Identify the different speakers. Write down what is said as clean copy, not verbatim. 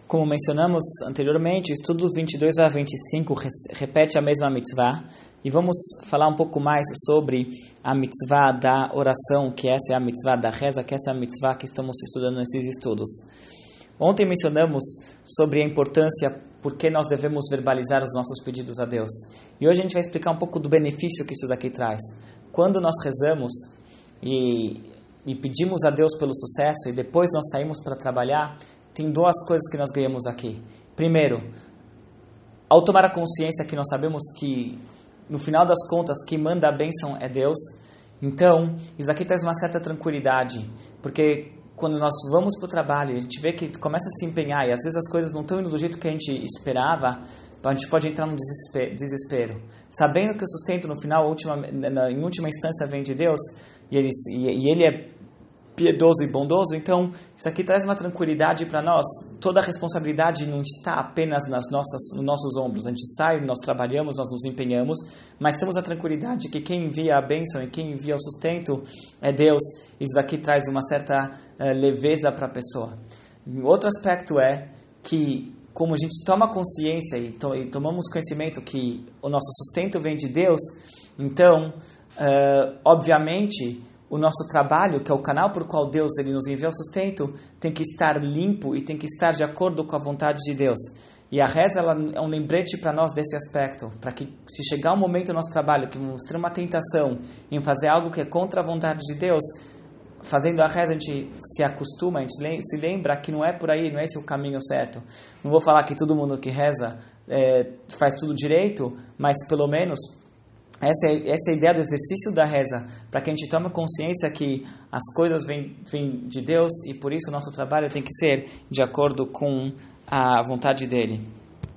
Speaker 1: Como mencionamos anteriormente, o estudo 22 a 25 repete a mesma mitzvah e vamos falar um pouco mais sobre a mitzvah da oração, que essa é a mitzvah da reza, que essa é a mitzvah que estamos estudando nesses estudos. Ontem mencionamos sobre a importância porque nós devemos verbalizar os nossos pedidos a Deus. E hoje a gente vai explicar um pouco do benefício que isso daqui traz. Quando nós rezamos e pedimos a Deus pelo sucesso e depois nós saímos para trabalhar, tem duas coisas que nós ganhamos aqui. Primeiro, ao tomar a consciência que nós sabemos que, no final das contas, quem manda a bênção é Deus, então, isso aqui traz uma certa tranquilidade, porque quando nós vamos para o trabalho, a gente vê que começa a se empenhar, e às vezes as coisas não estão indo do jeito que a gente esperava, a gente pode entrar num desespero. Sabendo que o sustento, no final, em última instância, vem de Deus, e Ele é piedoso e bondoso, então isso aqui traz uma tranquilidade para nós. Toda a responsabilidade não está apenas nos nossos ombros. A gente sai, nós trabalhamos, nós nos empenhamos, mas temos a tranquilidade que quem envia a bênção e quem envia o sustento é Deus. Isso aqui traz uma certa leveza para a pessoa. Outro aspecto é que, como a gente toma consciência e tomamos conhecimento que o nosso sustento vem de Deus, então, obviamente, o nosso trabalho, que é o canal por qual Deus ele nos envia o sustento, tem que estar limpo e tem que estar de acordo com a vontade de Deus. E a reza ela é um lembrete para nós desse aspecto, para que se chegar um momento no nosso trabalho que nos ter uma tentação em fazer algo que é contra a vontade de Deus, fazendo a reza a gente se acostuma, a gente se lembra que não é por aí, não é esse o caminho certo. Não vou falar que todo mundo que reza faz tudo direito, mas pelo menos essa é a ideia do exercício da reza, para que a gente tome consciência que as coisas vêm de Deus e por isso o nosso trabalho tem que ser de acordo com a vontade dele.